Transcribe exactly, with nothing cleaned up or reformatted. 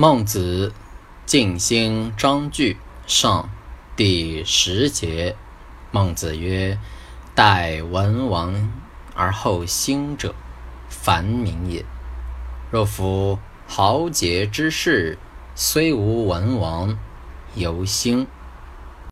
孟子尽心章句上第十节。孟子曰：待文王而后兴者，反民也。若夫豪杰之士，虽无文王，犹兴。